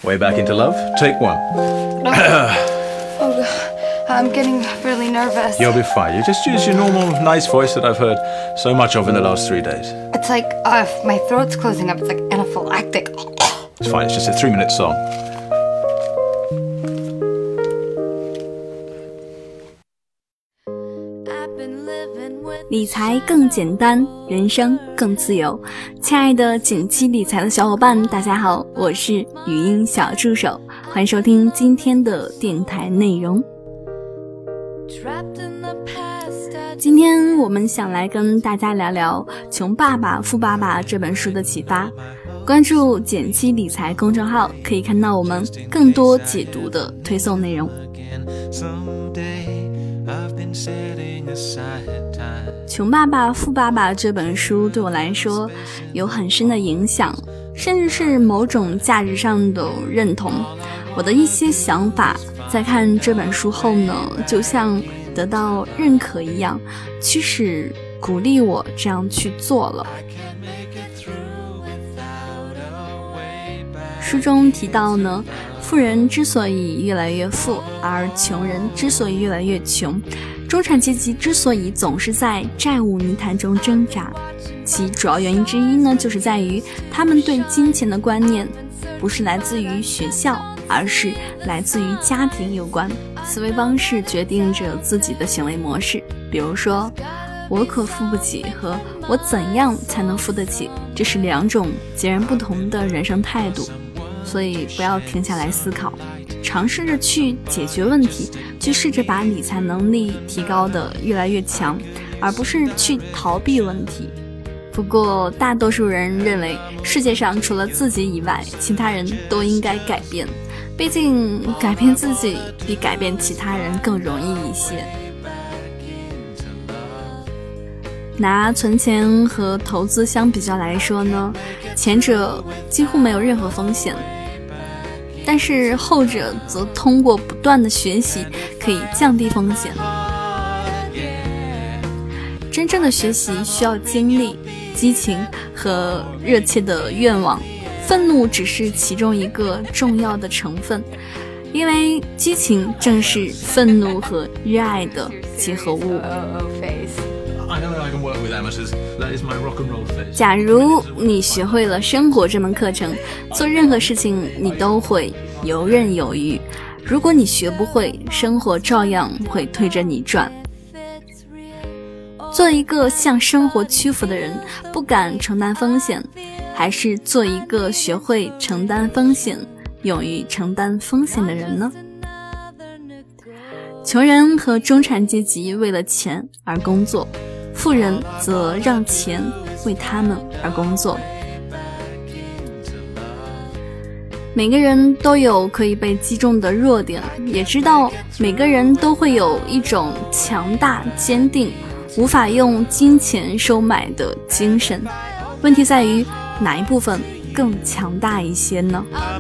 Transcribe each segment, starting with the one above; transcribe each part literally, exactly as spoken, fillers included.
Way back into love. Take one. Oh, God. I'm getting really nervous. You'll be fine. You just use your normal, nice voice that I've heard so much of in the last three days. It's like uh, my throat's closing up. It's like anaphylactic. It's fine. It's just a three-minute song. 理财更简单，人生更自由。亲爱的简七理财的小伙伴，大家好，我是语音小助手，欢迎收听今天的电台内容。今天我们想来跟大家聊聊《穷爸爸富爸爸》这本书的启发。关注简七理财公众号，可以看到我们更多解读的推送内容。穷爸爸富爸爸这本书对我来说有很深的影响，甚至是某种价值上的认同。我的一些想法在看这本书后呢，就像得到认可一样，驱使鼓励我这样去做了。书中提到呢，富人之所以越来越富，而穷人之所以越来越穷，中产阶级之所以总是在债务泥潭中挣扎，其主要原因之一呢，就是在于他们对金钱的观念不是来自于学校，而是来自于家庭有关。思维方式决定着自己的行为模式，比如说我可付不起和我怎样才能付得起，这是两种截然不同的人生态度。所以不要停下来思考，尝试着去解决问题，去试着把理财能力提高的越来越强，而不是去逃避问题。不过大多数人认为世界上除了自己以外，其他人都应该改变，毕竟改变自己比改变其他人更容易一些。拿存钱和投资相比较来说呢，前者几乎没有任何风险，但是后者则通过不断的学习可以降低风险。真正的学习需要精力、激情和热切的愿望，愤怒只是其中一个重要的成分，因为激情正是愤怒和热爱的结合物。假如你学会了生活这门课程，做任何事情你都会游刃有余。如果你学不会，生活照样会推着你转。做一个向生活屈服的人，不敢承担风险，还是做一个学会承担风险、勇于承担风险的人呢？穷人和中产阶级为了钱而工作，富人则让钱为他们而工作。每个人都有可以被击中的弱点，也知道每个人都会有一种强大、坚定、无法用金钱收买的精神。问题在于哪一部分更强大一些呢？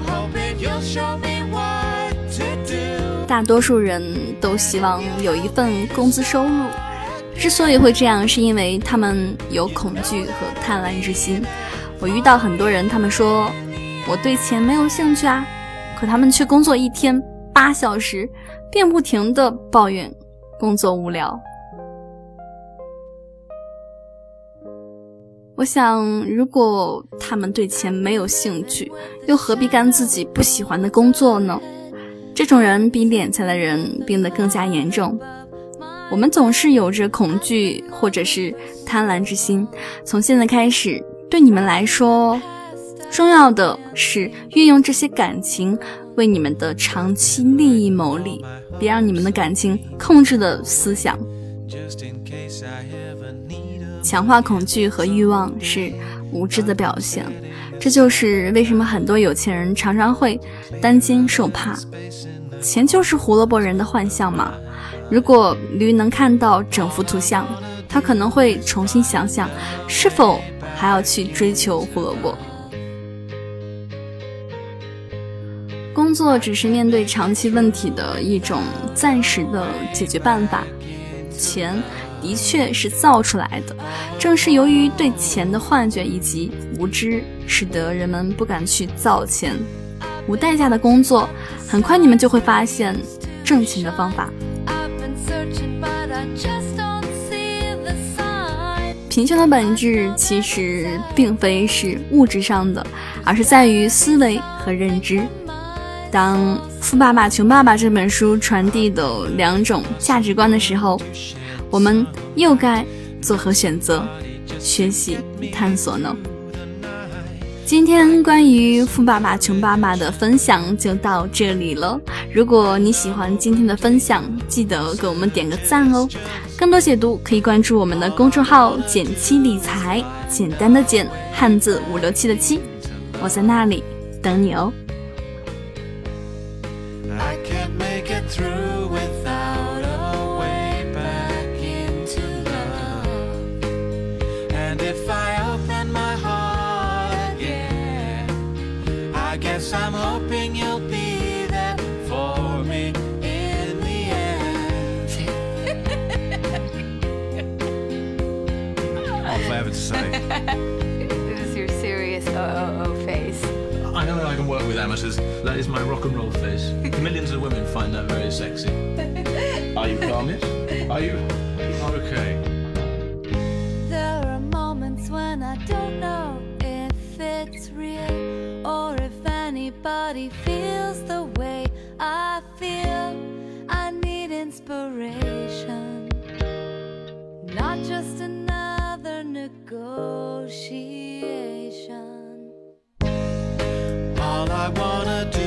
大多数人都希望有一份工资收入，之所以会这样，是因为他们有恐惧和贪婪之心。我遇到很多人，他们说我对钱没有兴趣啊，可他们却工作一天八小时，并不停地抱怨工作无聊。我想，如果他们对钱没有兴趣，又何必干自己不喜欢的工作呢？这种人比敛财的人病得更加严重。我们总是有着恐惧或者是贪婪之心，从现在开始，对你们来说，重要的是运用这些感情为你们的长期利益谋利，别让你们的感情控制了思想。强化恐惧和欲望是无知的表现，这就是为什么很多有钱人常常会担惊受怕。钱就是胡萝卜人的幻象嘛。如果驴能看到整幅图像，他可能会重新想想是否还要去追求胡萝卜。工作只是面对长期问题的一种暂时的解决办法，钱的确是造出来的，正是由于对钱的幻觉以及无知，使得人们不敢去造钱。 无代价的工作，很快你们就会发现挣钱的方法。贫穷的本质其实并非是物质上的，而是在于思维和认知。当《富爸爸穷爸爸》这本书传递的两种价值观的时候，我们又该作何选择？学习探索呢？今天关于《富爸爸穷爸爸》的分享就到这里了。如果你喜欢今天的分享，记得给我们点个赞哦。更多解读可以关注我们的公众号简七理财，简单的简，汉字五六七的七，我在那里等你哦。 I can't make it through without a way back into love. And if I open my heart again, I guess I'm hoping you'll be there for me in the end. All I have to say. This is your serious O O O face. I know I can work with amateurs. That is my rock and roll face. Millions of women find that very sexy. Are you calm, yes? Are you? Okay. There are moments when I don't know if it's real or if anybody feels the way I feel. I need inspiration, not just another negotiation. All I wanna do